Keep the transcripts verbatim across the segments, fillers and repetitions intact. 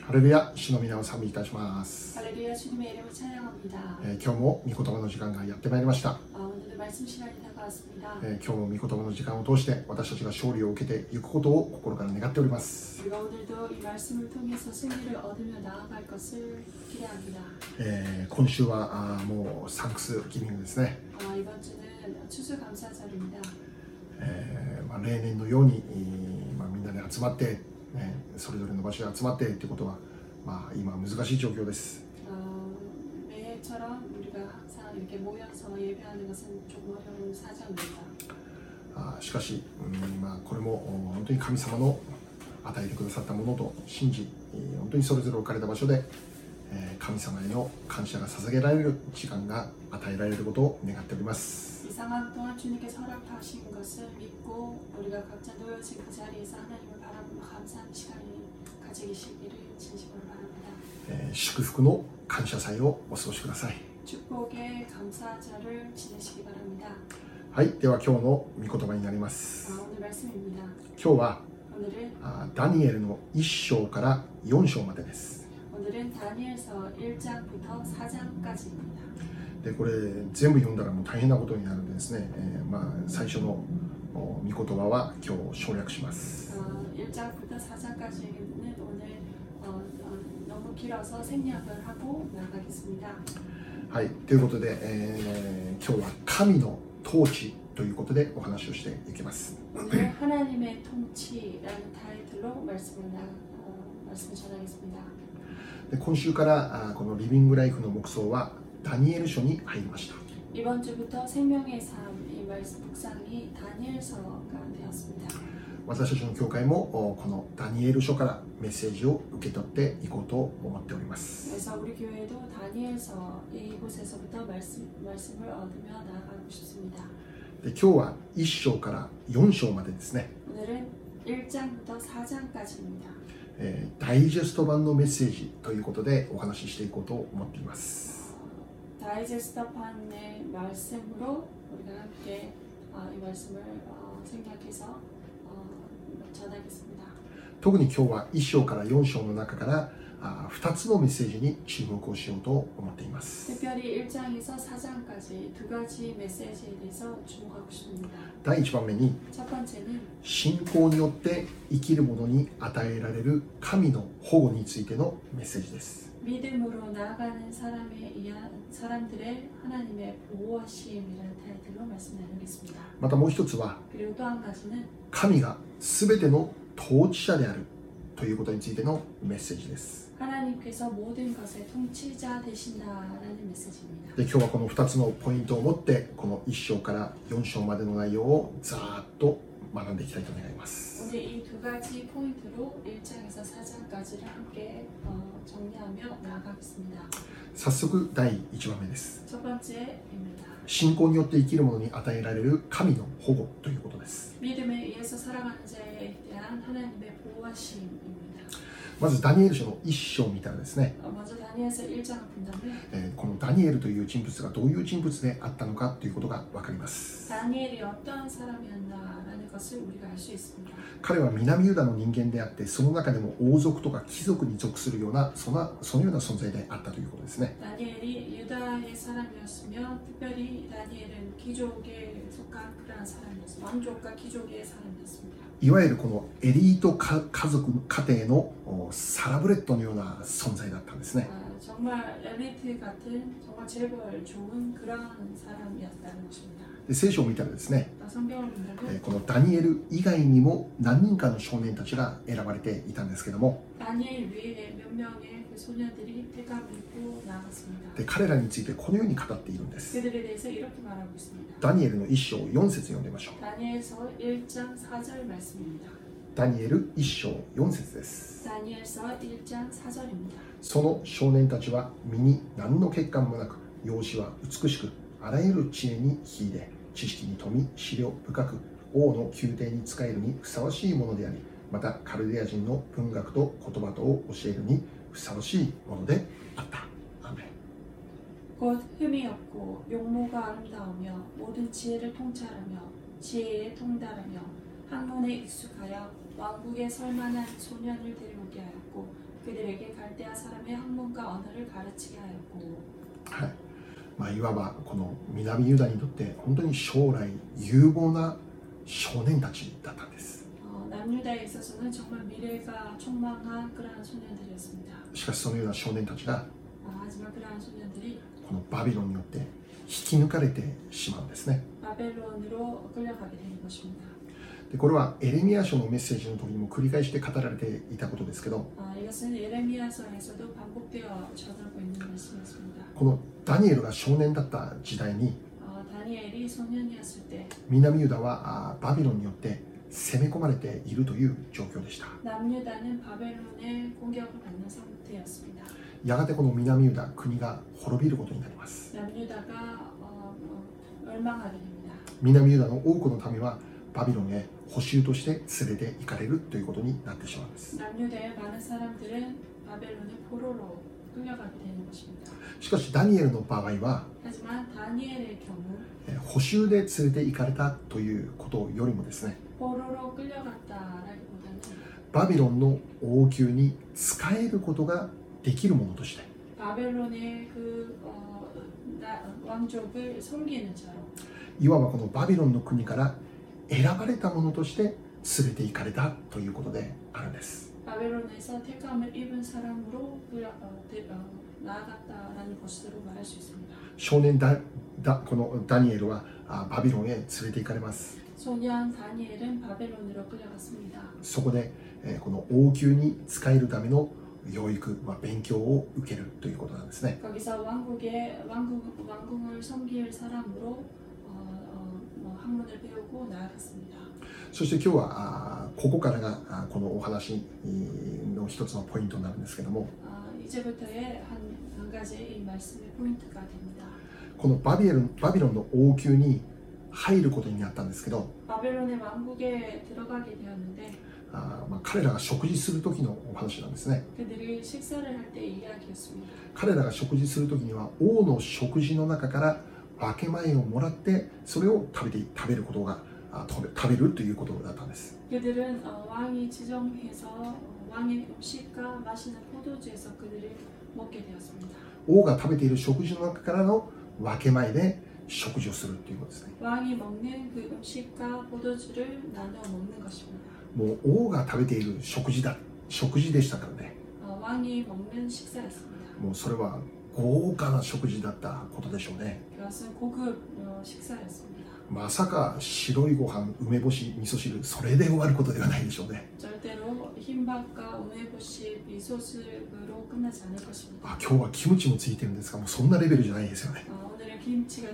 ハレルヤ、主の皆を賛美いたします。 할렐루야 주님의 이름을 찬양합니다. えー今日も御言葉の時間がやってまいりました。 아, 오늘도 말씀 시간이 다가왔습니다. えー今日も御言葉の時間を通して私たちが勝利を受けていくことを心から願っております。 우리가 오늘도 이 말씀을 통해서 승리를 얻으며 나아갈 것을 기대합니다. えー今週はあーもうサンクスギビングですね。 아, 이번 주는 추수감사절입니다. えーまあ、例年のように、えーまあ、みんなで集まって、ね、それぞれの場所で集まってということは、まあ、今は難しい状況です。 어, 매해처럼 우리가 항상 이렇게 모여서 예배하는 것은 조금 어려운 사정입니다. あーしかし、うんまあ、これもお本当に神様の与えてくださったものと信じ、えー本当にそれぞれ置かれた場所で、えー神様への感謝が捧げられる時間が与えられることを願っております。 이 상황 동안 주님께서 허락하신 것을 믿고 우리가 각자 놓여진 그 자리에서 하나님을 바라보며 감사하는 시간이 가지시기를 진심으로 바랍니다. えー祝福の感謝祭をお過ごしください。 축복의 감사절을 지내시기 바랍니다. はい、では今日の御言葉になります。 아, 오늘 말씀입니다. 今日は 오늘은 あダニエルのいっ章からよん章までです。 오늘은 다니엘서 일 장부터 사 장까지입니다. でこれ全部読んだらもう大変なことになるんでですね、えーまあ、最初のお御言葉は今日省略します。 어, 일 장부터 사 장까지는 오늘 어, 어, 너무 길어서 생략을 하고 나가겠습니다. はい、ということで、えー今日は神の統治ということでお話をしていきます。 오늘 하나님의 통치라는 타이틀로 말씀을, 나, 어, 말씀을 전하겠습니다. で今週からあこのリビングライフの黙想はダニエル書に入りました。 이번 주부터 생명의 삶 이 말씀 묵상이 다니엘서가 되었습니다. 私たちの教会もおこのダニエル書からメッセージを受け取っていこうと思っております。 그래서 우리 교회도 다니엘서 이곳에서부터 말씀, 말씀을 얻으며 나아가고 싶습니다. で今日はいっ章からよん章までですね、 오늘은 일 장부터 사 장까지입니다. えーダイジェスト版のメッセージということでお話ししていこうと思っています。 다이제스트판의 말씀으로 우리가 함께 어, 이 말씀을 어, 생각해서 어, 전하겠습니다. 特に今日はいっ章からよん章の中からあふたつのメッセージに注目をしようと思っています。 특별히 일 장에서 사 장까지 두 가지 메시지에 대해서 주목하고 싶습니다. 第いち番目に 첫 번째는 信仰によって生きる者に与えられる神の保護についてのメッセージです。 믿음으로 나아가는 사람에 의한 사람들의 하나님의 보호하심이라는 타이틀로 말씀 나누겠습니다. またもう一つは 그리고 또 한 가지는 神が全ての統治者であるということについてのメッセージです。 하나님께서 모든 것의 통치자 되신다라는 메시지입니다. で今日はこのふたつのポイントを持ってこのいっ章からよん章までの内容をざーっと学んでいきたいと願います。 오늘 이 두 가지 포인트로 일 장에서 사 장까지를 함께 어, 정리하며 나아가겠습니다. 早速だいいち番目です。 첫 번째입니다. 信仰によって生きる者に与えられる神の保護ということです。 믿음에 의해서 살아가는 자에 대한 하나님의 보호하심입니다. まずダニエル書のいっ章を見たらですね、 어, 먼저 다니엘서 일 장을 본다면 えーこのダニエルという人物がどういう人物であったのかということが分かります。 다니엘이 어떠한 사람이었나라는 것을 우리가 알 수 있습니다. 彼は南ユダの人間であって、その中でも王族とか貴族に属するようなそのそのような存在であったということですね。 다니엘이 유다의 사람이었으며 특별히 다니엘은 귀족에 속한 그러한 사람이었습니다. 왕족과 귀족의 사람이었습니다. いわゆるこのエリート家家族家庭のおサラブレッドのような存在だったんですね。 아, 정말 엘리트 같은 정말 재벌 좋은 그러한 사람이었다는 것입니다. で聖書を見たらですね、 또 성경을 え 본다면 ーこのダニエル以外にも何人かの少年たちが選ばれていたんですけども、 다니엘 외에 몇 명의 그 소년들이 택함을 입고 나갔습니다. で彼らについてこのように語っているんです。 그들에 대해서 이렇게 말하고 있습니다. ダニエルのいっ章よん節読んでみましょう。 다니엘서 일 장 사 절 말씀입니다. ダニエルいっ章よん節です。 다니엘서 일 장 사 절입니다. その少年たちは身に何の欠陥もなく、容姿は美しく、あらゆる知恵に秀で、知識に富み、思慮深く、王の宮廷に仕えるにふさわしいものであり、またカルデア人の文学と言葉とを教えるにふさわしいものであった。アーメン。 곧 흠이 없고 용모가 아름다우며 모든 지혜를 통찰하며 지혜에 통달하며 학문에 익숙하여 왕국에 설만한 소년을 데려오게 하였고 그들에게 갈대아 사람의 학문과 언어를 가르치게 하였고 はいまあ、いわばこの南ユダにとって本当に将来有望な少年たちだったんです。 어, 남유다에 있어서는 정말 미래가 촉망한 그러한 소년들이었습니다. しかしそのような少年たちが 아, 하지만 그러한 소년들이 このバビロンによって引き抜かれてしまうんですね。 바벨론으로 끌려가게 되는 것입니다. でこれはエレミヤ書のメッセージの時にも繰り返して語られていたことですけど、 아, 이것은 예레미야서에서도 반복되어 전하고 있는 말씀이었습니다. このダニエルが少年だった時代に 어, 다니엘이 소년이었을 때 南ユダはあバビロンによって攻め込まれているという状況でした。 남유다는 바벨론의 공격을 받는 상태였습니다. やがてこの南ユダ国が滅びることになります。 남유다가 어, 어, 멸망하게 됩니다. 南ユダの多くの民はバビロンへ捕囚として連れて行かれるということになってしまうんです。 남유다의 많은 사람들은 바벨론의 포로로 끌려가게 되는 것입니다. しかしダニエルの場合は 하지만 다니엘의 경우 え捕囚で連れて行かれたということよりもですね、 포로로 끌려갔다라기보다는 バビロンの王宮に仕えることができるものとして、 바벨론의 그 어, 나, 왕족을 섬기는 자로 いわばこのバビロンの国から選ばれたものとして連れて行かれたということであるんです。 바벨론에서 택함을 입은 사람으로 끌려, 어, 대, 어, 나아갔다라는 것으로 말할 수 있습니다. 少年だだこのダニエルはあバビロンへ連れて行かれます。 소년 다니엘은 바벨론으로 끌려갔습니다. そこで、えーこの王宮に仕えるための養育、まあ、勉強を受けるということなんですね。 거기서 왕국의 왕국, 왕궁을 섬길 사람으로 어, 어, 뭐 학문을 배우고 나아갔습니다. そして今日はあここからがあこのお話の一つのポイントになるんですけども、 어, 이제부터의 한, 한 가지 이 말씀의 포인트가 됩니다. このバビロン、バビロンの王宮に入ることになったんですけど、 바벨론의 왕국에 들어가게 되었는데 あまあ、彼らが食事する時のお話なんですね。 그들이 식사를 할 때 이야기였습니다. 彼らが食事する時には王の食事の中から分け前をもらってそれを食べて食べることがあ食べ、食べるということだったんです。 그들은 어, 왕이 지정해서 어, 왕의 음식과 마시는 포도주에서 그들이 먹게 되었습니다. 王が食べている食事の中からの分け前で食事をするということですね。 왕이 먹는 그 음식과 포도주를 나눠 먹는 것입니다. もう王が食べている食事だ食事でしたからね。 어, 왕이 먹는 식사였습니다. もうそれは豪華な食事だったことでしょうね。 그것은 고급 어, 식사였습니다. まさか白いご飯、梅干し、味噌汁それで終わることではないでしょうね。 절대로 흰밥과 우메보시 미소스으로 끝나지 않을 것입니다. あ、今日はキムチもついてるんですが、もうそんなレベルじゃないですよね。 어, 오늘은 김치가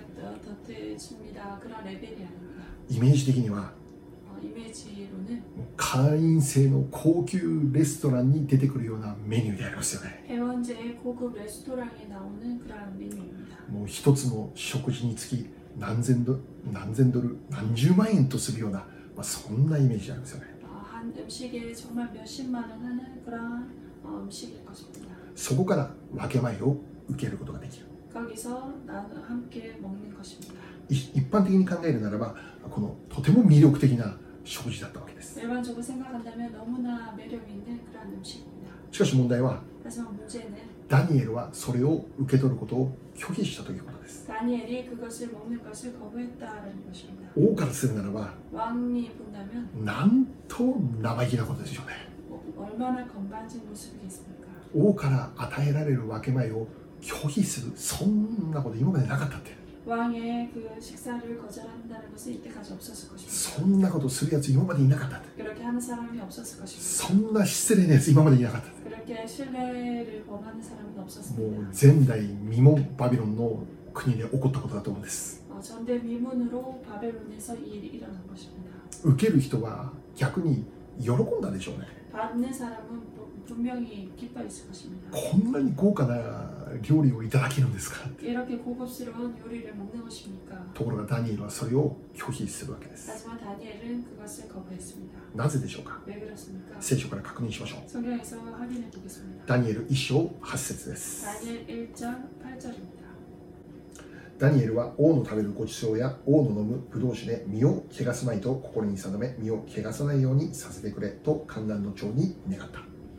덧대집니다. 그런 레벨이 아닙니다. イメージ的には 어, 이미지로는 もう会員制の高級レストランに出てくるようなメニューでありますよね。 회원제의 고급 레스토랑에 나오는 그러한 메뉴입니다. もう一つの食事につき何千ドル、何千ドル、何十万円とするような、まあ、そんなイメージなんですよね。 어, 한 음식에 정말 몇십만 원 하는 그러한 어, 음식일 것입니다. そこから分け前を受けることができる。 거기서 나 함께 먹는 것입니다. い一般的に考えるならば、このとても魅力的な食事だったわけです。 일반적으로 생각한다면 너무나 매력 있는 그러한 음식입니다. しかし問題は、 하지만 문제는 ダニエルはそれを受け取ることを拒否したということです。 다니엘이 그것을 먹는 것을 거부했다라는 것입니다. 王からするならば、 왕이 본다면 なんと生意気なことですよね。 어, 얼마나 건반진 모습이겠습니까? 王から与えられる分け前を拒否する、そんなこと今までなかったって。 왕의 그 식사를 거절한다는 것은 이때까지 없었을 것입니다. そんなことするやつ今までいなかったって。 그렇게 하는 사람이 없었을 것입니다. そんな失礼なやつ今までいなかったって。 그렇게 신뢰를 범하는 사람은 もう 없었습니다. 前代未聞バビロンの国で起こったことだと思うんです。 어, 전대미문으로 바벨론에서 이 일이 일어난 것입니다. 受ける人は逆に喜んだでしょうね。 받는 사람은 부- 분명히 기뻐했을 것입니다. こんなに豪華な料理をいただけるんですか。 이렇게 고급스러운 요리를 먹는 것입니까? ところがダニエルはそれを拒否するわけです。 하지만 다니엘은 그것을 거부했습니다. なぜでしょうか。 왜 그렇습니까? 聖書から確認しましょう。 성경에서 확인해 보겠습니다. ダニエルいっ章はち節です。 다니엘 일 장 팔 절입니다. ダニエルは王の食べるごちそうや王の飲むブドウ酒で身を汚すまいと心に定め、身を汚さないようにさせてくれと観覧の長に願った。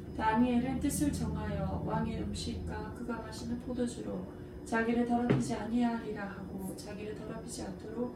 다니엘은 뜻을 정하여 왕의 음식과 그가 마시는 포도주로 자기를 더럽히지 아니하리라 하고 자기를 더럽히지 않도록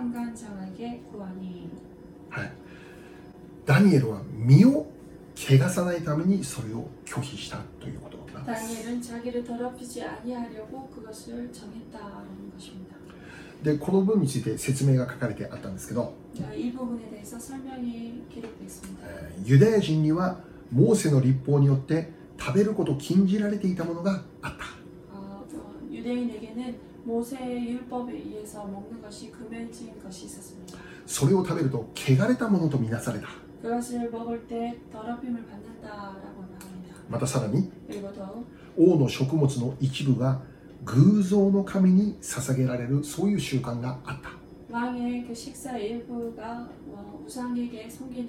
한간장에게 구하니. はい、ダニエルは身を汚さないためにそれを拒否したということなんです。 다니엘은 자기를 더럽히지 아니하려고 그것을 정했다라는 것입니다. でこの文について説明が書かれてあったんですけど、 이 부분에 대해서 설명이 기록되어 있습니다. えーユダヤ人にはモーセの律法によって食べることを禁じられていたものがあった。 어, 어, 유대인에게는 모세의 율법에 의해서 먹는 것이 금해진 것이 있었습니다. それを食べると汚れたものとみなされた。 그것을 먹을 때 더럽힘을 받는다라고 말합니다. またさらに 그리고 더 王の食物の一部が偶像の神に捧げられる、そういう習慣があった。 왕의 그 식사의 일부가 어, 우상에게 섬기는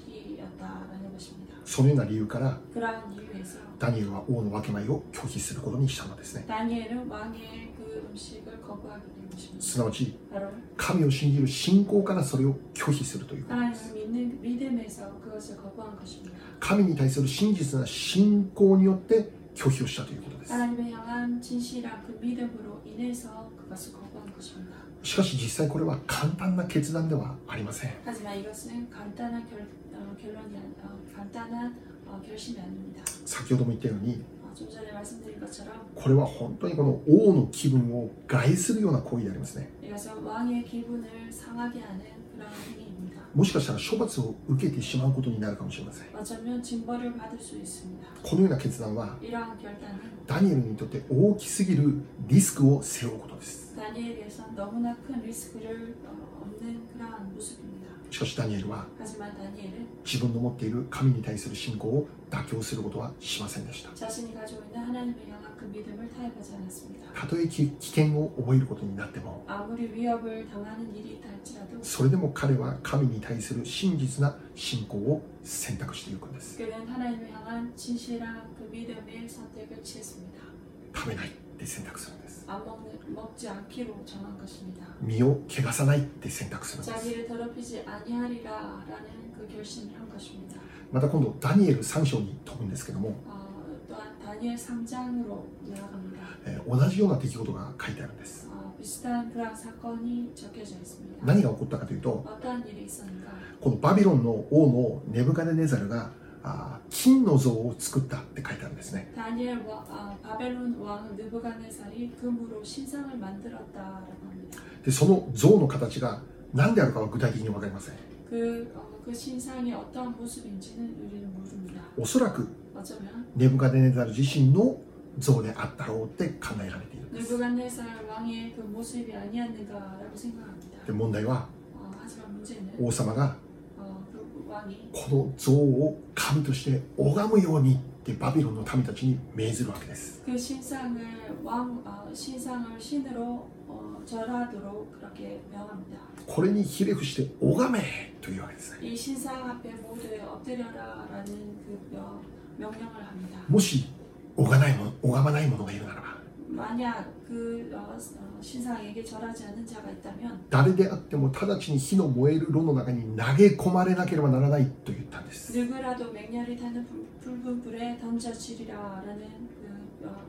음식이었다라는 것입니다. そのような理由から 그러한 이유에서 ダニエルは王の分け前を拒否することにしたのですね。 다니엘은 왕의 그 음식을 거부하게 된 것입니다. すなわち 바로 神を信じる信仰からそれを拒否するということです。 하나님을 믿는 믿음에서 그것을 거부한 것입니다. 神に対する真実な信仰によって拒否をしたということです。 하나님을 향한 진실한 그 믿음으로 인해서 그것을 거부한 것입니다. しかし実際これは簡単な決断ではありません。 하지만 이것은 간단한 결, 어, 결론이 아니, 어, 간단한 어, 결심이 아닙니다. 先ほども言ったように 어, 좀 전에 말씀드린 것처럼 これは本当にこの王の気分を害するような行為でありますね。 이것은 왕의 기분을 상하게 하는 그런 행위입니다. もしかしたら処罰を受けてしまうことになるかもしれません。 어쩌면 징벌을 받을 수 있습니다. このような決断は 이러한 결단은 ダニエルにとって大きすぎるリスクを背負うことです。 다니엘에선 너무나 큰 리스크를 어, 없는 그러한 모습입니다. しかしダニエルは 하지만 다니엘은 自分の持っている神に対する信仰を妥協することはしませんでした。 자신이 가지고 있는 하나님을 향한 그 믿음을 타협하지 않았습니다. たとえ危険を覚えることになっても 아무리 위협을 당하는 일이 있다 할지라도 それでも彼は神に対する真実な信仰を選択していくんです。 그는 하나님을 향한 진실한 그 믿음의 선택을 취했습니다. 食べないって選択するんです。 안 먹는, 먹지 않기로 정한 것입니다. 身を汚さないって選択するんです。 자기를 더럽히지 아니하리라라는 그 결심을 한 것입니다. また今度ダニエルさん章に飛ぶんですけども、 어, 또한 다니엘 삼 장으로 나아갑니다. えー同じような出来事が書いてあるんです。 어, 비슷한 그런 사건이 적혀져 있습니다. 何が起こったかというと、 어떠한 일이 있었는가? このバビロンの王のネブカデネザルがあ金の像を作ったって書いてあるんですね。 다니엘 와, 아, 바벨론 왕 느부갓네살이 금으로 신상을 만들었다라고 합니다. でその像の形が何であるかは具体的に分かりません。 그, 어, 그 신상이 어떠한 모습인지는 우리는 모릅니다. おそらく 어쩌면 ネブカデネザル自身の像であったろうって考えられているんです。 느부갓네살 왕의 그 모습이 아니었는가라고 생각합니다. で問題は 어, 하지만 문제는 王様が 어, 그 왕이 この像を神として拝むようにってバビロンの民たちに命ずるわけです。 그 신상을 왕 어, 신상을 신으로 어, 절하도록 그렇게 명합니다. これにひれ伏して拝めというわけですね。 이 신상 앞에 모두 엎드려라라는 그 명, 명령을 합니다. もし拝まないもの拝まない者がいるならば 만약 그 어, 어, 신상에게 절하지 않는 자가 있다면 誰であっても直ちに火の燃える炉の中に投げ込まれなければならないと言ったんです。 누구라도 맹렬히 타는 불- 붉은 불에 던져지리라라는 그 어,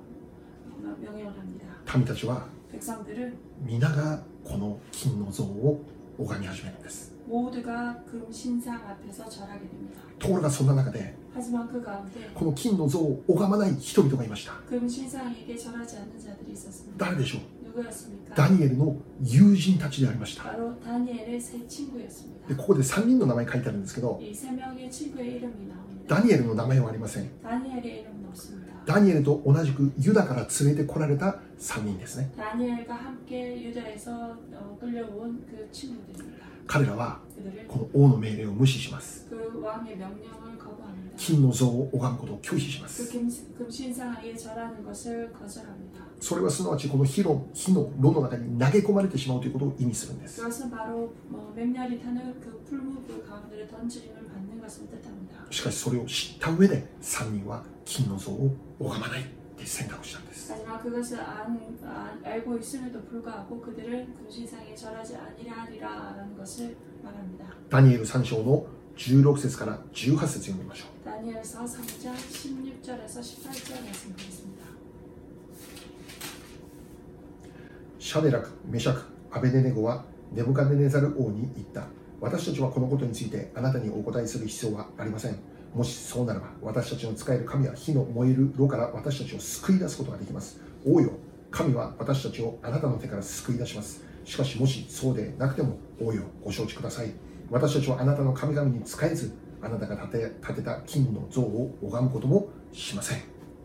어, 명령을 합니다. 民たちは 백성들은 皆がこの金の像を拝み始めるんです。 모두가 금 신상 앞에서 절하게 됩니다. ところがそんな中で 하지만 그 가운데 この金の像を拝まない人々がいました。 금 신상에게 절하지 않는 자들이 있었습니다. 誰でしょう。 누구였습니까? ダニエルの友人たちでありました。 바로 다니엘의 세 친구였습니다. でここでさんにんの名前書いてあるんですけど、 이 세 명의 친구의 이름이 나옵니다. ダニエルの名前はありません。 다니엘의 이름은 없습니다. ダニエルと同じくユダから連れてこられたさんにんですね。 다니엘과 함께 유다에서 어, 끌려온 그 친구들입니다. 彼らは 그들은 この王の命令を無視します。 그 왕의 명령을 거부합니다. 金の像を拝むことを拒否しま 그 す。 금, 금신상에 절하는 것을 거절합니다. それはすなわちこの火の火の炉の中に投げ込まれてしまうということを意味するんです。 그것은 바로 어, 맹렬히 타는 그 풀무불 가운데 던짐을 받는 것을 뜻합니다. しかしそれを知った上でさんにんは金の像を拝まないって選択したんです。 하지만 그것을 안, 안, 알고 있음에도 불구하고 그들은 금신상에 절하지 아니하리라라는 것을 말합니다. ダニエルさん章のじゅうろく節からじゅうはち節読みましょう。 다니엘서 삼 장 십육 절에서 십팔 절 말씀 보겠습니다. シャデラク、メシャク、アベデネゴはネブカデネザル王に言った。私たちはこのことについてあなたにお答えする必要はありません。もしそうならば私たちの使える神は火の燃える炉から私たちを救い出すことができます。王よ、神は私たちをあなたの手から救い出します。しかしもしそうでなくても王よ、ご承知ください。私たちはあなたの神々に仕えず、あなたが建て、建てた金の像を拝むこともしません。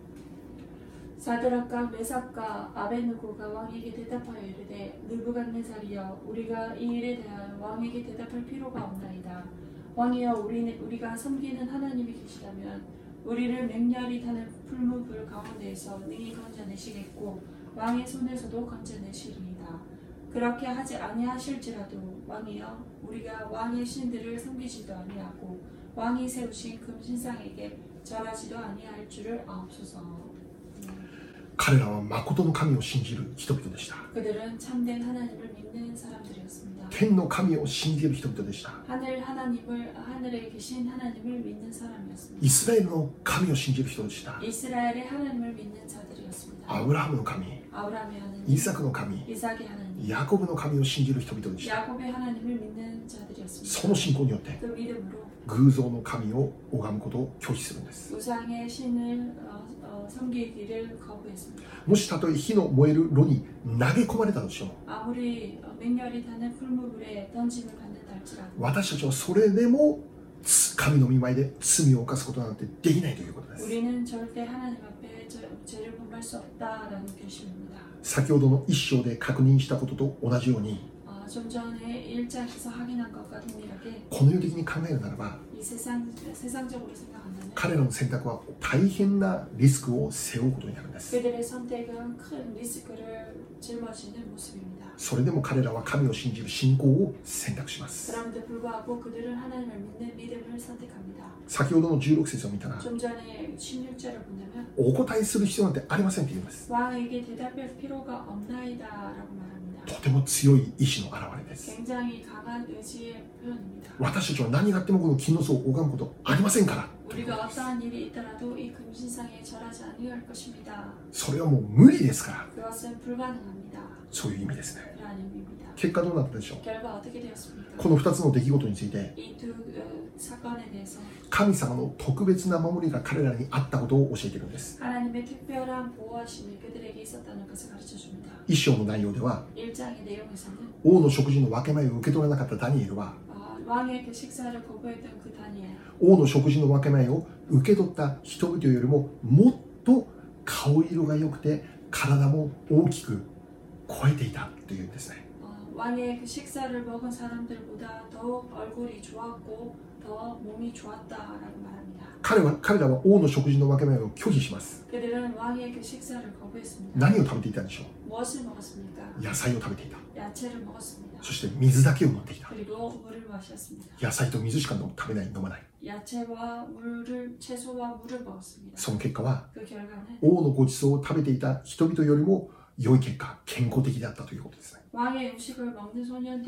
사드락과 메삭과 아베느고가 왕에게 대답하여 이르되 느부갓네살이여 우리가 이 일에 대하여 왕에게 대답할 필요가 없나이다. 왕이여 우리, 우리가 섬기는 하나님이 계시다면 우리를 맹렬히 타는 풀무불 가운데에서 능히 건져내시겠고 왕의 손에서도 건져내시리이다. 그렇게 하지 아니하실지라도 왕이여 우리가 왕의 신들을 섬기지도 아니하고 왕이 세우신 금신상에게 절하지도 아니할 줄을 아옵소서. 彼らは誠の神を信じる人々でした。 그들은 참된 하나님을 믿는 사람들이었습니다. 天の神を信じる人々でした。 하늘 하나님을 하늘에 계신 하나님을 믿는 사람이었습니다. イスラエルの神を信じる人でした。 이스라엘의 하나님을 믿는 자들이었습니다. アブラハムの神、 아브라함의 하나님, イサクの神、 이삭의 하나님, ヤコブの神を信じる人々でした。 야곱의 하나님을 믿는 자들이었습니다. その信仰によって 그 믿음으로 偶像の神を拝むことを拒否するんです。 우상의 신을 어, 어, 섬기기를 거부했습니다. もしたとえ火の燃える炉に投げ込まれたとしても、 아무리 어, 맹렬히 타는 풀무불에 던짐을 받는다 할지라도 私たちはそれでも神の御前で罪を犯すことなんてできないということです。 우리는 절대 하나님 앞에 저, 죄를 범할 수 없다라는 결심입니다. 先ほどの一章で確認したことと同じように、 어, 좀 전에 일 장에서 확인한 것과 동일하게 この世的に考えるならば、 이 세상, 세상적으로 생각한다면 彼らの選択は大変なリスクを背負うことになるんです。 그들의 선택은 큰 리스크를 짊어지는 모습입니다. それでも彼らは神を信じる信仰を選択します。 그럼에도 불구하고 그들은 하나님을 믿는 믿음을 선택합니다. 先ほどのじゅうろく節を見たら、 좀 전에 십육 절을 본다면 お答えする必要なんてありませんって言います。 왕에게 대답할 필요가 없나이다라고 말합니다. とても強い意志の表れです。 굉장히 강한 의지의 표현입니다. 私たちは何があってもこの金の像を拝むことありませんからということ 우리가 です。 어떠한 일이 있더라도 이 금신상에 절하지 아니할 것입니다. それはもう無理ですから、 그것은 불가능합니다. そういう意味ですね。 그런 의미입니다. 結果どうなったでしょう。 결과 어떻게 되었습니까? このふたつの出来事について、 이 두 사건에 대해서 神様の特別な守りが彼らにあったことを教えているんです。 하나님의 특별한 보호하심이 그들에게 있었다는 것을 가르쳐 줍니다. 一章の内容では、 일 장의 내용에서는 王の食事の分け前を受け取らなかったダニエルは、 어, 왕의 그 식사를 거부했던 그 다니엘, 王の食事の分け前を受け取った人々よりももっと顔色が良くて体も大きく超えていたというんですね。 어, 왕의 그 식사를 먹은 사람들보다 더욱 얼굴이 좋았고 더 몸이 좋았다라고 말합니다. 彼は彼らは王の食事の分け前を拒否します。 그들은 왕의 그 식사를 거부했습니다. 何を食べていたでしょ 무엇을 먹었습니까? う。野菜を食べていた。 야채를 먹었습니다. そして水だけを飲んでいた。 그리고 물을 마셨습니다. 野菜と水しか飲食べない、飲まない。 야채와 물을 채소와 물을 먹었습니다. その結果は 그 결과는 王のご馳走を食べていた人々よりも良い結果、健康的であったということですね。 왕의 음식을 먹는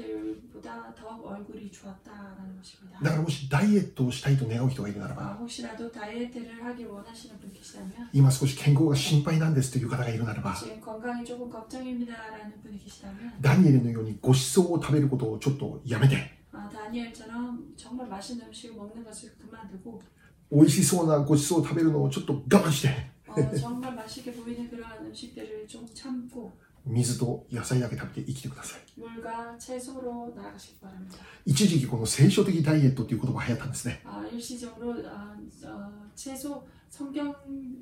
소년들보다 더욱 얼굴이 좋았다라는 것입니다. だからもしダイエットをしたいと願う人がいるなら 어, ば、 혹시라도 다이어트를 하길 원하시는 분 계시다면 今少し健康が心配なんですという方がいるならば、 지금 건강이 조금 걱정입니다라는 분이 계시다면 ダニエルのようにご馳走を食べることをちょっとやめて、 어, 다니엘처럼 정말 맛있는 음식을 먹는 것을 그만두고 美味しそうなご馳走を食べるのをちょっと我慢して、 어, 정말 맛있게 보이는 그러한 음식들을 좀 참고 水と野菜だけ食べて生きてください。 물과 채소로 나아가시기 바랍니다. 一時期この聖書的ダイエットという言葉が流行ったんですね。 아, 일시적으로 아, 어, 채소 성경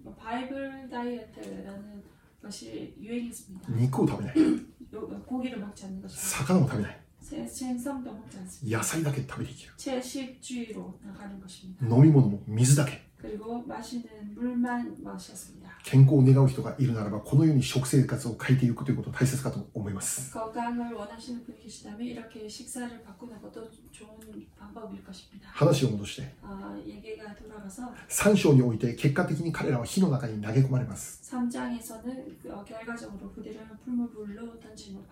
바이블 다이어트라는 것이 유행했습니다. 肉を食べない、 요- 고기를 먹지 않는 것입니다. 魚も食べない、 생- 생선도 먹지 않습니다. 野菜だけ食べて生きる。 채식주의로 나가는 것입니다. 飲み物も水だけ。 그리고 마시는 물만 마셨습니다. 健康を願う人がいるならば、このように食生活を変えていくということが大切かと思います。 건강을 원하시는 분이 계시다면 이렇게 식사를 바꾸는 것도 좋은 방법일 것입니다. 話を戻して、 아, 얘기가 돌아가서 さん章において結果的に彼らは火の中に投げ込まれます。 삼 장에서는 어, 결과적으로 그들은 풀무불로 던짐을 받,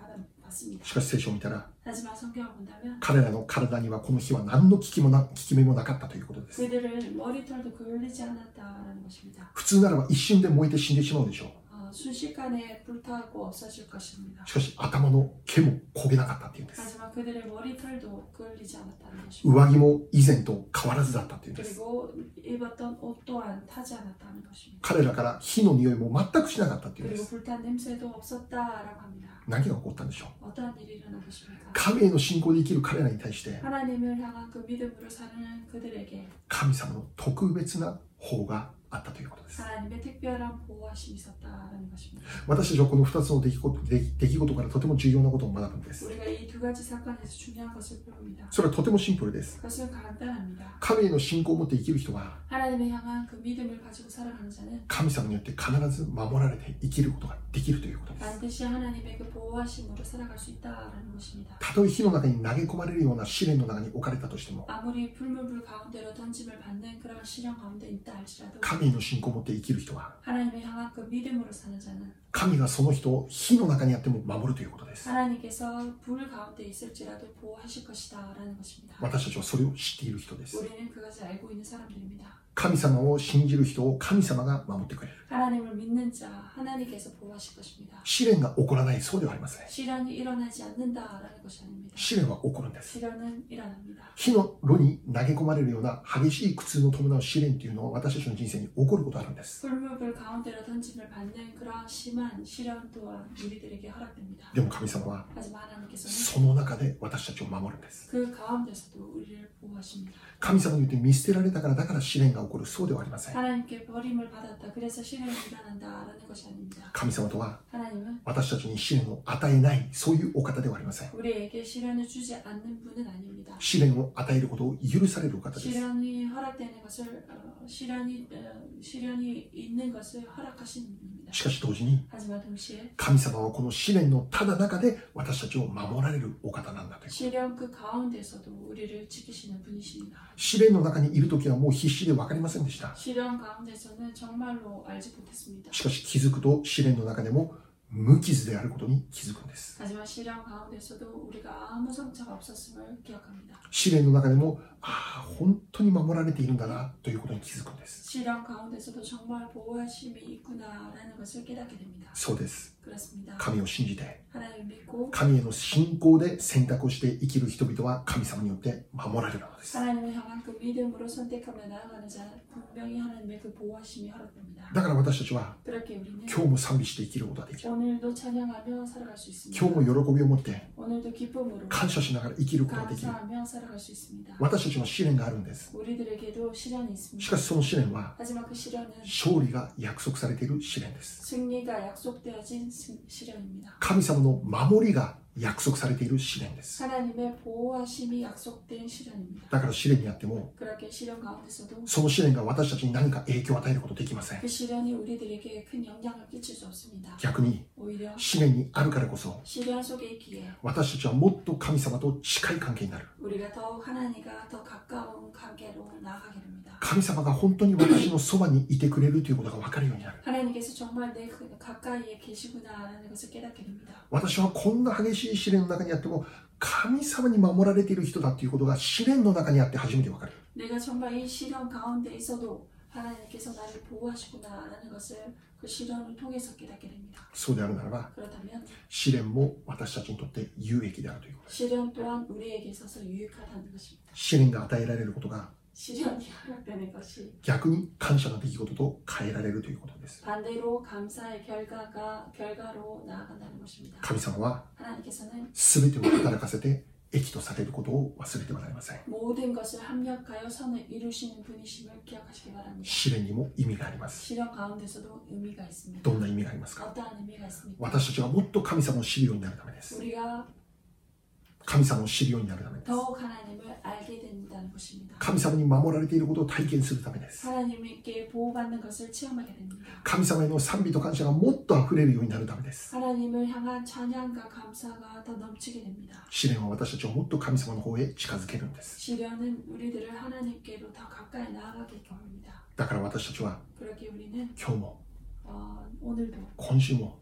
받습니다. しかし聖書を見たら 하지만 성경을 본다면 彼らの体にはこの日は何の効きもな効き目もなかったということです。 그들을 머리털도 그을리지 않았다라는 것입니다. 普通ならば一瞬で燃えて死んでしまうでしょう。 어, 순식간에 불타고 없어질 것입니다. しかし頭の毛も焦げなかったっていうんです。 하지만 그들의 머리털도 그을리지 않았다는 것입니다. 上着も以前と変わらずだったっていうんです。 그리고 입었던 옷 또한 타지 않았다는 것입니다. 彼らから火の匂いも全くしなかったっていうんで 그리고 す。 불탄 냄새도 없었다라고 합니다. 何が起こったんでしょう。 어떠한 일이 일어난 것입니까? 神への信仰で生きる彼らに対して 하나님을 향한 그 믿음으로 사는 그들에게 神様の特別な保護があったということです。 하나님의 특별한 보호하심이 있었다라는 것입니다. 私たちはこのふたつの出来事、出出来事からとても重要なことを学ぶんです。 우리가 이 두 가지 사건에서 중요한 것을 배웁니다. それはとてもシンプルです。 그것은 간단합니다. 神への信仰を持って生きる人は 하나님을 향한 그 믿음을 가지고 살아가는 자는 神様によって必ず守られて生きることができるということです。 반드시 하나님의 그 보호하심으로 살아갈 수 있다라는 것입니다. たとえ火の中に投げ込まれるような試練の中に置かれたとしても 아무리 불문불 가운데로 던짐을 받는 그런 시련 가운데 있다 할지라도 神への信仰を持って生きる人は 하나님을 향한 그 믿음으로 사는 자는 神がその人を火の中にあっても守るということです。 하나님께서 불 가운데 있을지라도 보호하실 것이다라는 것입니다. 私たちはそれを知っている人です。 우리는 그것을 알고 있는 사람들입니다. 神様を信じる人を神様が守ってくれる。 하나님을 믿는 자 하나님께서 보호하실 것입니다. 試練が起こらない、そうではありません。 시련이 일어나지 않는다라는 것이 아닙니다. 試練は起こるんです。 시련은 일어납니다. 火の炉に投げ込まれるような激しい苦痛の伴う試練というのは私たちの人生に起こることがあるんです。 불문불 가운데로 던짐을 받는 그러한 심한 시련 또한 우리들에게 허락됩니다. でも神様は 하지만 하나님께서는 その中で私たちを守るんです。 그 가운데서도 우리를 보호하십니다. 神様によって見捨てられたからだから試練が起こる、そうではありません。 하나님께 버림을 받았다. 그래서 시련이 일어난다라는 것이 아닙니다. 神様とは 하나님은 私たちに試練を与えない、そういうお方ではありません。 우리에게 시련을 주지 않는 분은 아닙니다. 試練を与えることを許されるお方です。 시련이 허락되는 것을 어, 시련이 어, 시련이 있는 것을 허락하시는 분입니다. しかし同時に 하지만 동시에 神様はこの試練のただ中で私たちを守られるお方なんだという。 시련 그 가운데서도 우리를 지키시는 분이십니다. 試練の中にいるときはもう必死で分かりませんでした。 시련 가운데서는 정말로 알지 못했습니다. しかし気づくと試練の中でも無傷であることに気づくんです。 하지만 시련 가운데서도 우리가 아무 상처가 없었음을 기억합니다. 試練の中でもああ本当に守られているんだなということに気づくんです。 시련 가운데서도 정말 보호하심이 있구나라는 것을 깨닫게 됩니다. そうです。 그렇습니다. 神を信じて 하나님을 믿고 神への信仰で選択をして生きる人々は神様によって守られるのです。 하나님을 향한 그 믿음으로 선택하며 나아가는 자는 분명히 하나님의 그 보호하심이 허락됩니다. だから私たちは 그렇게 우리는 今日も賛美して生きることができる。 오늘도 찬양하며 살아갈 수 있습니다. 今日も喜びを持って 오늘도 기쁨으로 感謝しながら生きることができる。 감사하며 살아갈 수 있습니다. 私たちの試練があるんです。 우리들에게도 시련이 し 있습니다. かしその試練は 하지만 그 시련은 勝利が約束されている試練です。 승리가 약속되어진 승- 시련입니다. 神様の守りが約束されている試練です。 하나님의 보호하심이 약속된 시련입니다. だから試練にあっても 그렇게 시련 가운데서도 その試練が私たちに何か影響を与えることできません。 그 시련이 우리들에게 큰 영향을 끼칠 수 없습니다. 逆に 오히려 試練にあるからこそ 시련 속에 있기에 私たちはもっと神様と近い関係になる。 우리가 더욱 하나님과 더 가까운 관계로 나아가게 됩니다. 神様が本当に私のそばにいてくれるということが分かるようになる。 하나님께서 정말 내 그- 가까이에 계시구나라는 것을 깨닫게 됩니다. 私はこんな激しい試練の中にあっても神様に守られている人だということが試練の中にあって初めて分かる。 내가 정말 이 시련 가운데 있어도 하나님께서 나를 보호하시구나라는 것을 그 시련을 통해서 깨닫게 됩니다. そうであるならば 그렇다면 試練も私たちにとって有益であるということです。 시련 또한 우리에게 있어서 유익하다는 것입니다. 試練が与えられることが 시련이 허락되는 것이 逆に感謝の出来事と変えられるということです。 반대로 감사의 결과가 결과로 나아간다는 것입니다. 神様は 하나님께서는 全てを働かせて益とされることを忘れてはなりません。 모든 것을 합력하여 선을 이루시는 분이심을 기억하시기 바랍니다. 試練にも意味があります。 시련 가운데서도 의미가 있습니다. どんな意味がありますか？ 어떠한 의미가 있습니까? 私たちがもっと神様を知るようになるためです。 우리가 神様を知るようになるためです。 더욱 하나님을 알게 된다는 것입니다. 神様に守られていることを体験するためです。 하나님께 보호받는 것을 체험하게 됩니다. 神様への賛美と感謝がもっと溢れるようになるためです。 하나님을 향한 찬양과 감사가 더 넘치게 됩니다. 試練は私たちをもっと神様の方へ近づけるんです。 시련은 우리들을 하나님께로 더 가까이 나아가게 합니다. だから私たちは 그렇게 우리는 今日も 어, 오늘도 今週も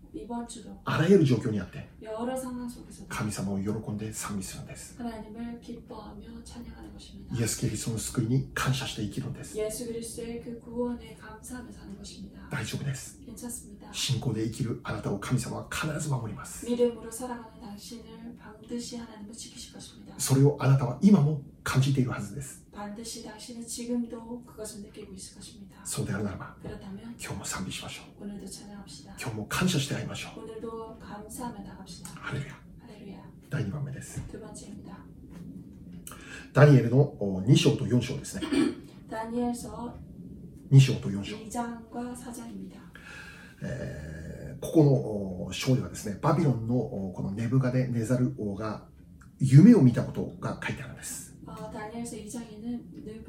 이번 주도 あらゆる状況にあって 여러 상황 속에서 神様を喜んで賛美するんです。 하나님을 기뻐하며 찬양하는 것입니다. イエス・キリストの救いに感謝して生きるんです。 예수 그리스도의 그 구원에 감사하며 사는 것입니다. 大丈夫です。 괜찮습니다. 信仰で生きるあなたを神様は必ず守ります。 믿음으로 살아가는 당신을 반드시 하나님은 지키실 것입니다. それをあなたは今も感じているはずです。 반드시 당신은 지금도 그것을 느끼고 있을 것입니다. そうであるならば 그렇다면 今日も賛美しましょう。 오늘도 찬양합시다. 今日も感謝して会いましょう。 오늘도 감사하며 나갑시다. ハレルヤ。 할렐루야. だいにばんめです。 두 번째입니다. ダニエルのに章とよん章ですね。 다니엘서 に章とよん章。 이 장과 사 장입니다. えーここの章ではですね、バビロンのこのネブガデネザル王が夢を見たことが書いてあるんです。 어, 다니엘서 이 장에는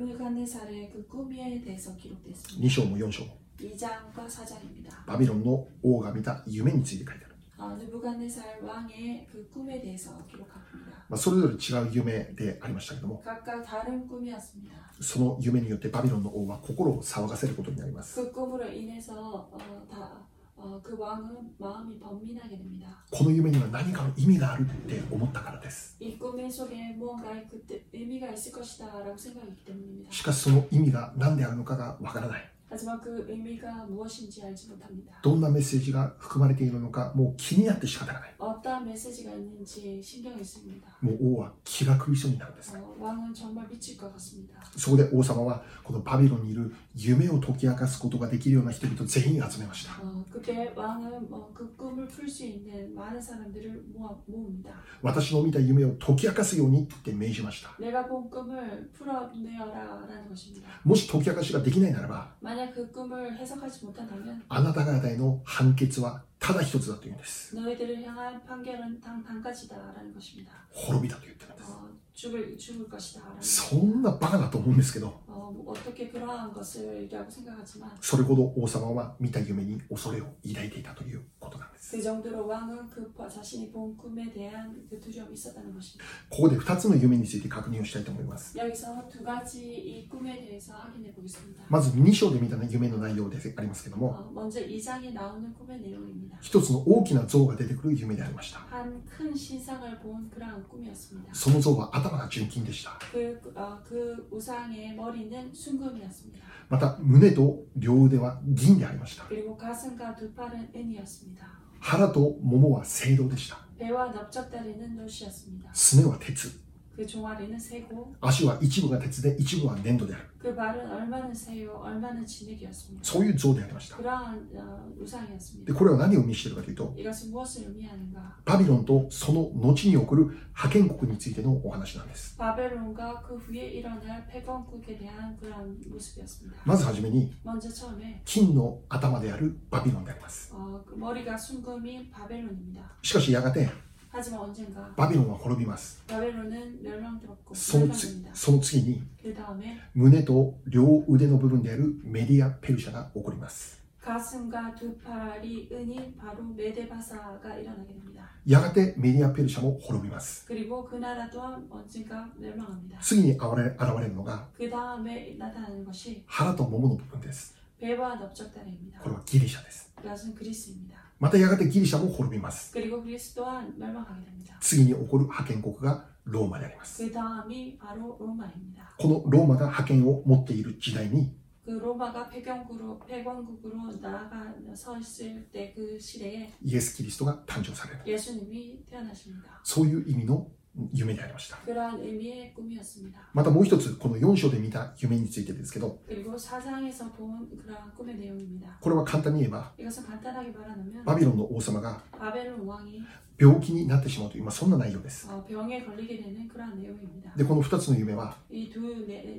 느부갓네살의 그 꿈에 대해서 기록되어 있습니다. に章もよん章も 이 장과 사 장입니다. バビロンの王が見た夢について書いてある。 어, 느부갓네살 왕의 그 꿈에 대해서 기록합니다. まあ、それぞれ違う夢でありましたけども、 각각 다른 꿈이었습니다. その夢によってバビロンの王は心を騒がせることになります。 그 꿈으로 인해서 어, 다, 어, 그 왕은 마음이 번민하게 됩니다. この夢には何かの意味があるって思ったからです。 이 꿈의 속에 무언가의 그때 의미가 있을 것이다 라고 생각했기 때문입니다. しかしその意味が何であるのかがわからない。 하지만 그 의미가 무엇인지 알지 못합니다. どんなメッセージが含まれているのかもう気になって仕方がない。 어떠한 메시지가 있는지 신경이 쓰입니다. もう王は気が狂いそうになるんです。 어, 왕은 정말 미칠 것 같습니다. そこで王様はこのバビロンにいる夢を解き明かすことができるような人々全員集めました。 어, 그때 왕은 어, 그 꿈을 풀 수 있는 많은 사람들을 모아, 모읍니다. 私の見た夢を解き明かすようにって命じました。 내가 본 꿈을 풀어내어라 라는 것입니다. もし解き明かしができないならば、 만약 그 꿈을 해석하지 못한다면 あなた方への判決はただ一つだというんです。 너희들을 향한 판결은 단, 단 가지다 라는 것입니다. 滅びだと言ってるんです。 어, 죽을, 죽을 것이다 라는 そんなバカだと思うんですけど、 어, 뭐 어떻게 그러한 것을 라고 생각하지만 それほど王様は見た夢に恐れを抱いていたということなんです。 그 정도로 왕은 그 자신이 본 꿈에 대한 그 두려움이 있었다는 것입니다. ここでふたつの夢について確認をしたいと思います。 여기서 두 가지 이 꿈에 대해서 확인해 보겠습니다. まずに章で見た夢の内容でありますけども、 어, 먼저 이 장에 나오는 꿈의 내용입니다. 一つの大きな像が出てくる夢でありました。 한 큰 신상을 본 그러한 꿈이었습니다. その像は頭が純金でした。 그, 어, 그 우상의 머리는 순금이었습니다. また胸と両腕は銀でありました。 그리고 가슴과 두 팔은 은이었습니다. 腹とももは青銅でした。 배와 넓적다리는 노시였습니다. すねは鉄、 그 종아리는 새고 足は一部が鉄で一部は粘土である。 그 발은 얼마는 새요 얼마는 진흙이었습니다. そういう像でありました。 그러한 어, で 우상이었습니다. これは何を意味しているかというと、 이것은 무엇을 의미하는가? バビロンとその後に起こる覇権国についてのお話なんです。 바벨론과 그 후에 일어날 패권국에 대한 그런 모습이었습니다. まずはじめに 먼저 처음에 金の頭であるバビロンであります。 어, 그 머리가 순금인 바벨론입니다. しかしやがて 하지만 언젠가 バビロンは滅びます。 바벨론은 멸망되었고 そのつ 멸망됩니다. その次に 그 다음에 胸と両腕の部分であるメディア・ペルシャが起こります。 가슴과 두 팔이 은인 바로 메데바사가 일어나게 됩니다. やがてメディア・ペルシャも滅びます。 그리고 그 나라 또한 언젠가 멸망합니다. 次に現れ現れるのが 그 다음에 나타나는 것이 腹とももの部分です。 배와 넓적다리입니다. これはギリシャです。 그것은 그리스입니다. またやがてギリシャも滅びます。 그리고 그리스 또한 멸망하게 됩니다. 次に起こる覇権国がローマであります。 그 다음이 바로 로마입니다. このローマが覇権を持っている時代に 그 로마가 패권국으로, 패권국으로 나아가 서 있을 때 그 시대에 イエス・キリストが誕生される。 예수님이 태어나십니다. そういう意味の夢でありました。 그러한 의미의 꿈이었습니다. またもう一つ、このよん章で見た夢についてですけど、 그리고 사장에서 본 그러한 꿈의 내용입니다. これは簡単に言えば 이것은 간단하게 말하면 バビロンの王様が 바벨론 왕이 病気になってしまうという、まあ、そんな内容です。 어, 병에 걸리게 되는 그러한 내용입니다. でこのふたつの夢は 이 두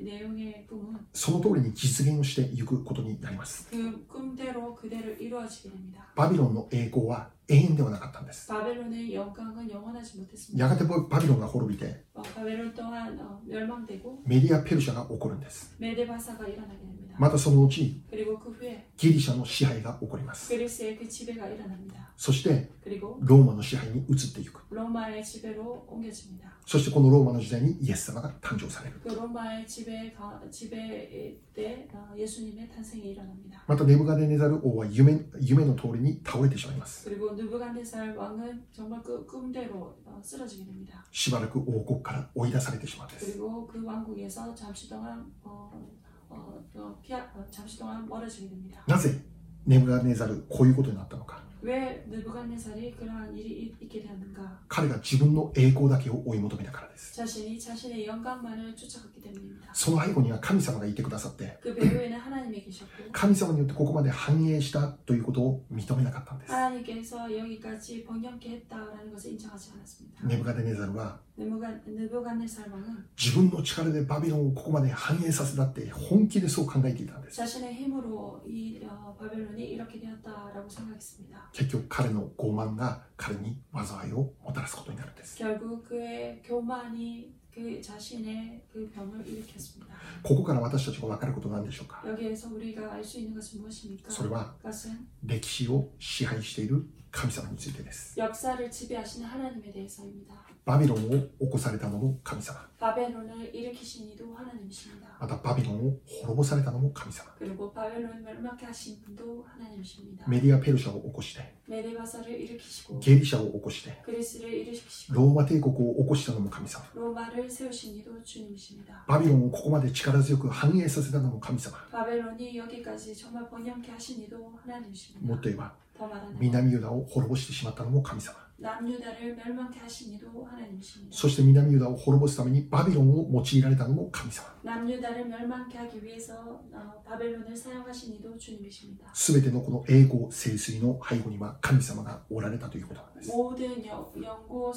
내용의 꿈은 その通りに実現をしていくことになります。 그 꿈대로 그대로 이루어지게 됩니다. バビロンの栄光は永遠ではなかったんです。 바벨론의 영광은 영원하지 못했습니다. やがてバビロンが滅びて 어, 바벨론 또한 어, 멸망되고 メディア・ペルシャが起こるんです。 메데바사가 일어나게 됩니다. 것입니다. またその後 그리고 그 후에 ギリシャの支配が起こります。 그리스의 그 지배가 일어납니다. そして 그리고 ローマの支配に移っていく。 로마의 지배로 옮겨집니다. そしてこのローマの時代にイエス様が誕生される。 그 로마의 지배 지배 때 예수님의 탄생이 일어납니다. またネブカデネザル王は夢夢の通りに倒れてしまいます。 그리고 느부갓네살 왕은 정말 그 꿈대로 쓰러지게 됩니다. しばらく王国から追い出されてしまうんです。 그리고 그 왕국에서 잠시 동안 어, 어, 어, 피하, 어, 잠시 동안 멀어지게 됩니다. なぜネブカデネザルこういうことになったのか。 왜 느부갓네살이 그러한 일이 있게 되었는가? 彼が自分の栄光だけを追い求めたからです。 자신이 자신의 영광만을 쫓아갔기 때문입니다. その背後には神様がいてくださって、 그 배후에는 하나님이 계셨고 神様によってここまで繁栄したということを認めなかったんです。 하나님께서 여기까지 번영케 했다라는 것을 인정하지 않았습니다. ネブカデネザルは 느부갓네살 왕은 自分の力でバビロンをここまで繁栄させたって本気でそう考えていたんです。 자신의 힘으로 이 어, 바벨론이 이렇게 되었다라고 생각했습니다. 結局彼の傲慢が彼に災いをもたらすことになるんです。 결국 그의 교만이 그 자신의 그 병을 일으켰습니다. ここから私たちが分かることは何でしょうか。 여기에서 우리가 알 수 있는 것은 무엇입니까? それは 그것은 歴史を支配している神様についてです。 역사를 지배하시는 하나님에 대해서입니다. バビロンを起こされたのも神様。 바벨론을 일으키신 이도 하나님이십니다. またバビロンを滅ぼされたのも神様。 그리고 바벨론을 멸망케 하신 분도 하나님이십니다. メディア・ペルシャを起こして、 메데바사를 일으키시고 ゲリシャを起こして、 그리스를 일으키시고 ローマ帝国を起こしたのも神様。 로마를 세우신 이도 주님이십니다. バビロンをここまで力強く繁栄させたのも神様。 바벨론이 여기까지 정말 번영케 하신 이도 하나님이십니다. もっと言えば、 더 말하는 南ユダを滅ぼしてしまったのも神様。 남유다를 멸망케 하신 이도 하나님이십니다. そして南ユダを滅ぼすためにバビロンを用いられたのも神様。 남유다를 멸망케 하기 위해서 어, 바벨론을 사용하신 이도 주님이십니다. すべてのこの栄光盛衰の背後には神様がおられたということなんです。 모든 영, 영고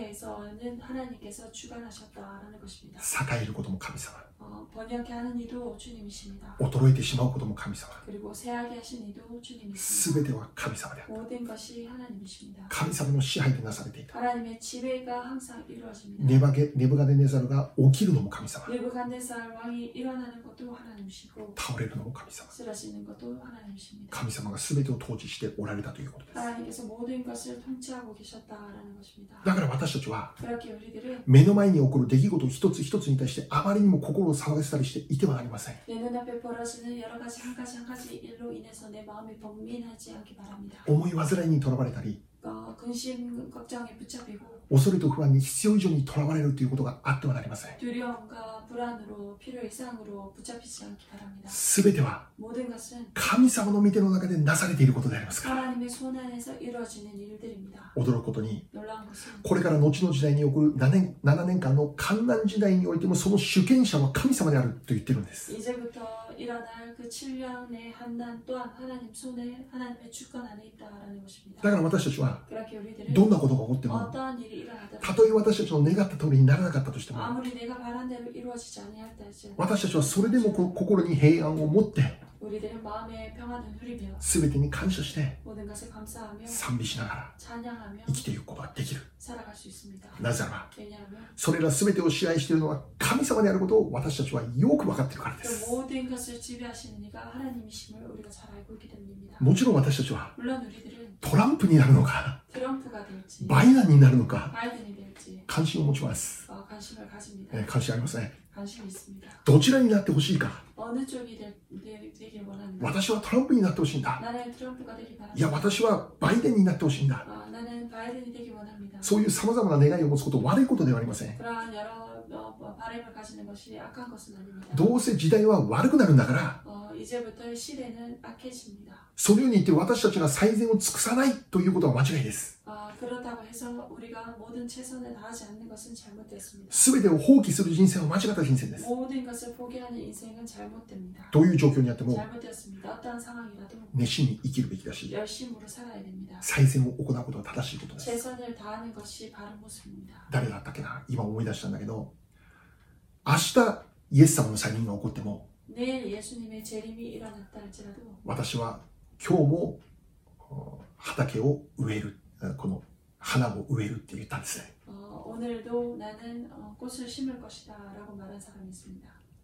성세에서는 하나님께서 주관하셨다라는 것입니다. 栄えることも神様。 어, 번영케 하는 이도 주님이십니다. 衰えてしまうことも神様。 그리고 쇠하게 하신 이도 주님이십니다. すべては神様である。 모든 것이 하나님이십니다. 神様の支配でなされていた。 하나님의 지배가 항상 이루어집니다. ネバゲネブカデネザルが起きるのも神様。 느부갓네살 왕이 일어나는 것도 하나님이시고 倒れるのも神様。 쓰러지는 것도 하나님이십니다. 神様がすべてを統治しておられたということです。 하나님께서 모든 것을 통치하고 계셨다라는 것입니다. だから私たちは 그렇게 우리들은 目の前に起こる出来事一つ一つに対してあまりにも心を騒がせたりしていてはなりません。 내 눈앞에 벌어지는 여러 가지 한 가지 한 가지 일로 인해서 내 마음이 번민하지 않기 바랍니다. 思い煩いにとらわれたり、 어, 근심 걱정에 붙잡히고 恐れと不安に必要以上にとらわれるということがあってはなりません。 두려움과 불안으로 필요 이상으로 붙잡히지 않기 바랍니다. すべては 모든 것은 神様の御手の中でなされていることでありますから。 하나님의 손 안에서 이루어지는 일들입니다. 驚くことに、 놀라운 것은 これから後の時代に起こるななねん、ななねんかんの観難時代においてもその主権者は神様であると言ってるんです。 이제부터 일어날 그 칠 년의 한난 또한 하나님 손에 하나님의 주권 안에 있다라는 것입니다. だから私たちは 그렇게 우리들은 どんなことが起こっても、 어떠한 일이 일어나더라도 たとえ私たちの願った通りにならなかったとしても、 아무리 내가 바란 대로 이루어지지 아니할다 할지라도 私たちはそれでもこ心に平安を持って 우리들은 마음의 평안을 누리며 全てに感謝して 모든 것을 감사하며 賛美しながら 찬양하며 生きていくことができる。 살아갈 수 있습니다. なぜならば 왜냐하면 それら全てを支配しているのは神様であることを私たちはよく分かっているからで 그 す。 모든 것을 지배하시는 이가 하나님이심을 우리가 잘 알고 있기 때문입니다. もちろん私たちは 물론 우리들은 トランプになるのか 트럼프가 될지 バイデンになるのか 바이든이 될지 関心を持ちます、 어, 관심을 가집니다. えー関心ありますね。 관심이 있습니다. どちらになってほしいか。 어느 쪽이 될, 되, 되길 원하는가? 私はトランプになってほしいんだ。 나는 트럼프가 되길 いや 바랍니다. 私はバイデンになってほしいんだ。 어, 나는 바이든이 되길 원합니다. そういうさまざまな願いを持つことは悪いことではありません。 그러한 여러 어, 어, 바램을 가지는 것이 악한 것은 아닙니다. どうせ時代は悪くなるんだから、 어, 이제부터 시대는 악해집니다. そのように言って私たちが最善を尽くさないということは間違いです。 어, 그렇다고 해서 우리가 모든 최선을 다하지 않는 것은 잘못됐습니다. すべてを放棄する人生は間違った人生です。 모든 것을 포기하는 인생은 잘못됩니다. どういう状況にあっても 잘못되었습니다. 어떠한 상황이라도 熱心に生きるべきだし、 열심으로 살아야 됩니다. 最善を行うことは正しいことです。 최선을 다하는 것이 바른 모습입니다. 誰だったっけな、今思い出したんだけど、明日イエス様の再臨が起こっても、 내일 예수님의 재림이 일어났다 할지라도 私は今日もお畑を植える、この花を植えるって言ったんですね。 어, 오늘도 나는 어, 꽃을 심을 것이다 라고 말한 사람이 있습니다.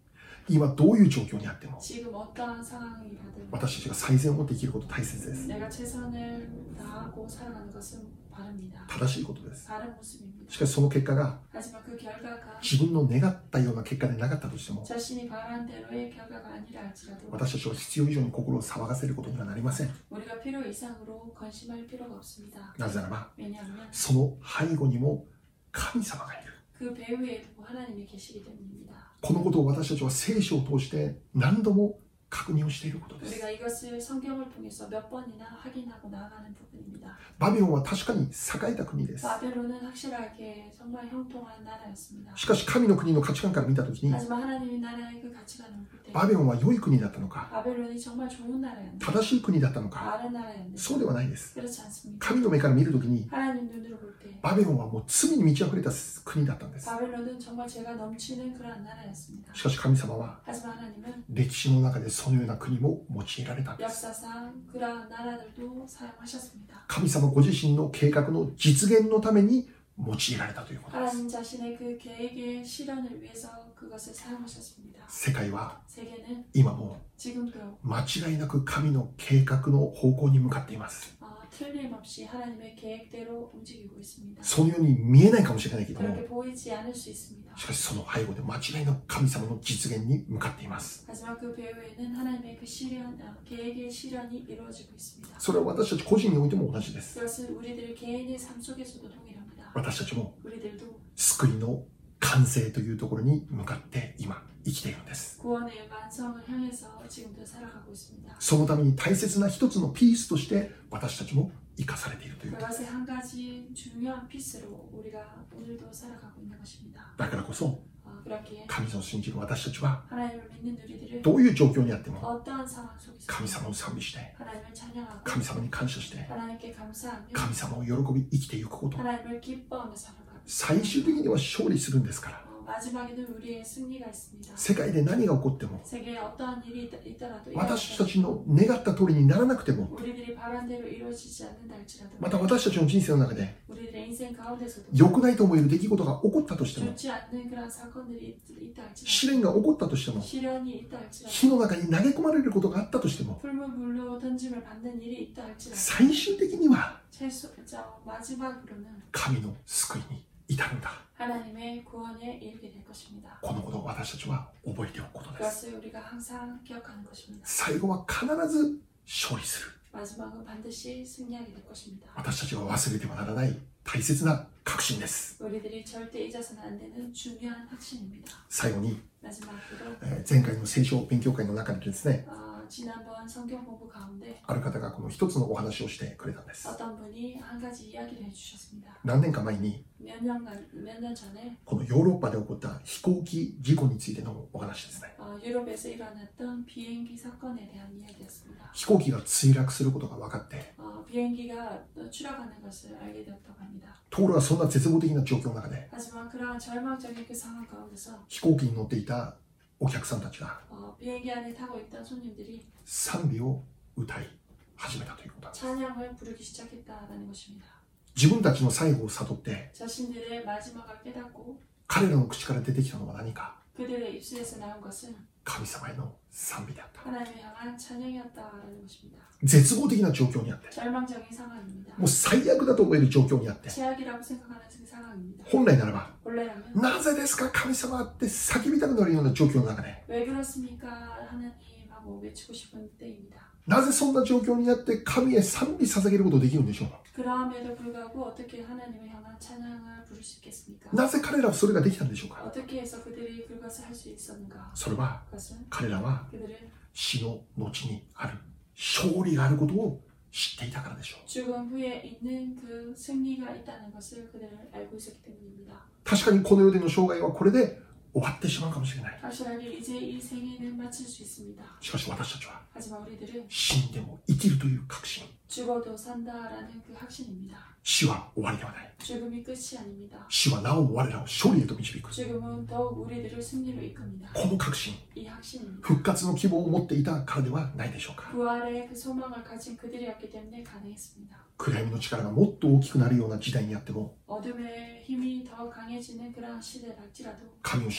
今どういう状況にあっても 지금 어떠한 상황이라든 私たちが最善を持って生きること大切です。 내가 최선을 다하고 살아가는 것은 바릅니다. 正しいことです。 바른 모습입니다. しかしその結果が 하지만 그 결과가 自分の願ったような結果でなかったとしても 자신이 바란 대로의 결과가 아니라 할지라도 私たちは必要以上に心を騒がせることにはなりません。 우리가 필요 이상으로 건심할 필요가 없습니다. なぜならば 왜냐하면 その背後にも神様がいる。 그 배후에도 하나님이 계시기 때문입니다. このことを私たちは聖書を通して何度も確認をしていることです。 우리가 이것을 성경을 통해서 몇 번이나 확인하고 나아가는 부분입니다. バビロンは確かに栄えた国です。 바벨론은 확실하게 정말 형통한 나라였습니다. しかし神の国の価値観から見たときに 하지만 하나님의 나라의 그 가치관을 볼 때 バビロンは良い国だったのか 바벨론이 정말 좋은 나라였는데 正しい国だったのか 바른 나라였는데 そうではないです。 그렇지 않습니다. 神の目から見るときに 하나님 눈으로 볼 때 バビロンはもう罪に満ち溢れた国だったんです。 바벨론은 정말 죄가 넘치는 그러한 나라였습니다. しかし神様は 하지만 하나님은 歴史の中でそのような国も用いられたんです。 역사상 그러한 나라들도 사용하셨습니다. 神様ご自身の計画の実現のために用いられたということです。 하나님 자신의 그 계획의 실현을 위해서 그것을 사용하셨습니다. 世界は 세계는 今も 지금도 間違いなく神の計画の方向に向かっています。 어, 틀림없이 하나님의 계획대로 움직이고 있습니다. そのように見えないかもしれないけども 그렇게 보이지 않을 수 있습니다. しかしその背後で間違いなく神様の実現に向かっています。 하지만 그 배후에는 하나님의 그 실현, 어, 계획의 실현이 이루어지고 있습니다. それは私たち個人においても同じです。 그것은 우리들 개인의 삶 속에서도 동일합니다. 私たちも 우리들도 救いの完成というところに向かって今生きているんです。 구원의 완성을 향해서 지금도 살아가고 있습니다. そのために大切な一つのピースとして私たちも生かされているということです。 그것의 한 가지 중요한 피스로 우리가 오늘도 살아가고 있는 것입니다. だからこそ 어, 그렇기에 神を信じる私たちは 하나님을 믿는 우리들은 どういう状況にあっても 어떠한 상황 속에서 神様を賛美して 하나님을 찬양하고 神様に感謝して 하나님께 감사하며 神様を喜び生きていくこと 하나님을 기뻐하며 살아가고 最終的には勝利するんですから 어, 마지막에는 우리의 승리가 있습니다. 世界で何が起こっても 세계에 어떠한 일이 있- 있더라도 私たちの願った通りにならなくても 우리들이 바란 대로 이루어지지 않는다 할지라도 また私たちの人生の中で 우리들의 인생 가운데서도 良くないと思える出来事が起こったとしても 좋지 않는 그런 사건들이 있- 있다 試 할지라도 練が起こったとしても 시련이 있다 할지라도 火の中に投げ込まれることがあったとしても 풀무불로 던짐을 받는 일이 있다 할지라도 最終的には 최소, 저, 마지막으로는 神の救いに至るんだ。 하나님의 구원에 이르게 될 것입니다. このことを私たちは覚えておくことです。 그것을 우리가 항상 기억하는 것입니다. 最後は必ず勝利する。 마지막은 반드시 승리하게 될 것입니다. 私たちが忘れてはならない大切な確信です。 우리들이 절대 잊어서는 안 되는 중요한 확신입니다. 最後に、 마지막으로 えー前回の聖書勉強会の中でですね、 어, 지난번 성경 공부 가운데 ある方がこの一つのお話をしてくれたんです。 어떤 분이 한 가지 이야기를 해주셨습니다. 何年か前に 몇 년간 몇 년 전에 このヨーロッパで起こった飛行機事故についてのお話ですね。 어, 유럽에서 일어났던 비행기 사건에 대한 이야기였습니다. 飛行機が墜落することが分かって、 어, 비행기가 추락하는 것을 알게 되었다고 합니다. ところがそんな絶望的な状況の中で 하지만 그러한 절망적인 그 상황 가운데서 飛行機に乗っていたお客さんたちが 어, 비행기 안에 타고 있던 손님들이 賛美を歌い始めたということなんです。 찬양을 부르기 시작했다라는 것입니다. 自分たちの最後を悟って 자신들의 마지막을 깨닫고 彼らの口から出てきたのは何か、 그들의 입술에서 나온 것은 神様への賛美であった。 하나님을 향한 찬양이었다라는 것입니다. 絶望的な状況にあって、 절망적인 상황입니다. もう最悪だと思える状況にあって、 최악이라고 생각하는 그 상황입니다. 本来ならば 원래라면 なぜですか神様って叫びたくなるような状況の中で、 왜 그렇습니까 하나님 하고 외치고 싶은 때입니다. なぜそんな状況になって神へ賛美捧げることができるんでしょうか。 그럼에도 불구하고 어떻게 하나님을 향한 찬양을 부를 수 있겠습니까? なぜ彼らはそれができたんでしょうか。 어떻게 해서 그들이 그것을 할 수 있었는가? それは 그것은 彼らは 그들은 死の後にある勝利があることを知っていたからでしょう。 죽음 후에 있는 그 승리가 있다는 것을 그들은 알고 있었기 때문입니다. 確かにこの世での生涯はこれで終わってしまうかもしれない。 확실하게 이제 이 생애는 마칠 수 있습니다. しかし私たちは 하지만 우리들은 死んでも生きるという確信、 죽어도 산다라는 그 확신입니다. 死は終わりではない。 죽음이 끝이 아닙니다. 死はなお我らを勝利へと導く。 죽음은 더욱 우리들을 승리로 이끕니다. この確信、 이 확신입니다. 復活の希望を持っていたからではないでしょうか。 부활의 그 소망을 가진 그들이었기 때문에 가능했습니다. 暗闇の力がもっと大きくなるような時代にあっても、 어둠의 힘이 더 강해지는 그러한 시대랄지라도 神を信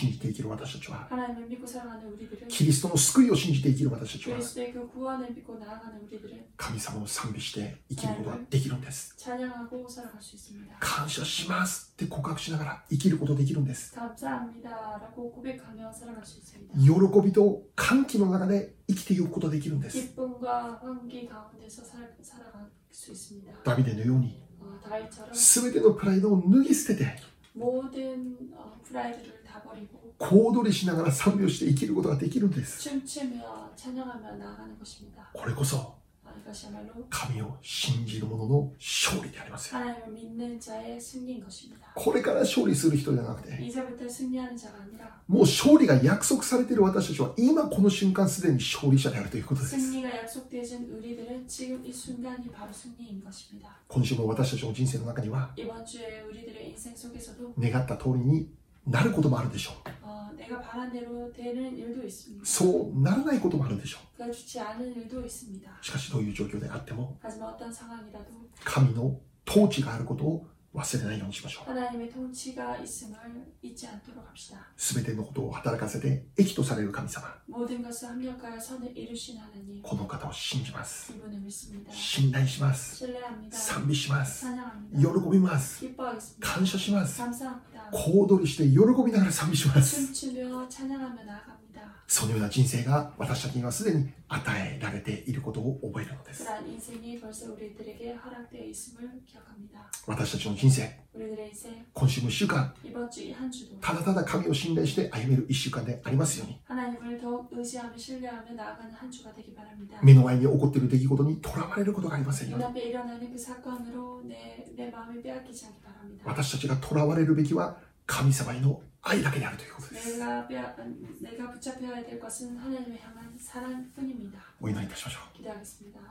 信じて生きる私たちは 하나님을 믿고 살아가는 우리들은 キリストの救いを信じて生きる私たちは 그리스도의 그 구원을 믿고 나아가는 우리들은 神様を賛美して生きることができるんです 찬양하고 살아갈 수 있습니다. 感謝しますって告白しながら生きることができるんです 감사합니다라고 고백하며 살아갈 수 있습니다. 喜びと歓喜の中で生きていくことができるんです 기쁨과 환기 가운데서 살, 살아갈 수 있습니다. ダビデのように 어, 다윗처럼 全てのプライドを脱ぎ捨てて 모든 어, 프라이드를 다 버리고 小躍りしながら賛美をして生きることができるんです 춤추며 찬양하며 나아가는 것입니다. これこそ 아, 이것이야말로 神を信じる者の勝利でありますよ 하나님을 믿는 자의 승리인 것입니다. これから勝利する人じゃなくて 이제부터 승리하는 자가 아니라 もう勝利が約束されている私たちは今この瞬間すでに勝利者であるということです 승리가 약속되어진 우리들은 지금 이 순간이 바로 승리인 것입니다. 今週も私たちの人生の中には 이번 주에 우리들의 인생 속에서도 願った通りになることもあるでしょう 어, 내가 바란 대로 되는 일도 있습니다. そうならないこともあるでしょ 그가 좋지 않은 일도 있습니다. うしかしどういう状況であっても 하지만 어떤 상황이라도 神の統治があることを忘れないようにしましょう 하나님의 통치가 있음을 잊지 않도록 합시다. すべてのことを働かせて益とされる神様 모든 것을 합력하여 선을 이루신 하나님, この方を信じます 이분을 믿습니다. 信頼します 신뢰합니다. 賛美します 찬양합니다. 喜びます 기뻐하겠습니다. 感謝します 감사합니다. 小躍りして喜びながら賛美します 춤추며 찬양하며 나아갑니다. そのような人生が私たちにはすでに与えられていることを覚えるのです 그러한 인생이 벌써 우리들에게 허락되어 있음을 기억합니다. 私たちの人生 우리들의 인생, 今週もいっしゅうかん 이번 주 이 한 주도 ただただ神を信頼して歩めるいっしゅうかんでありますように 하나님을 더욱 의지하며 신뢰하며 나아가는 한 주가 되기 바랍니다. 目の前に起こっている出来事にとらわれることがありませんように 눈앞에 일어나는 그 사건으로 내, 내 마음을 빼앗기지 않기 바랍니다. 私たちがとらわれるべきは神様への愛だけであるということです 내가, 빼앗, 내가 붙잡혀야 될 것은 하나님을 향한 사랑뿐입니다. お祈りいたしましょう。 기도하겠습니다.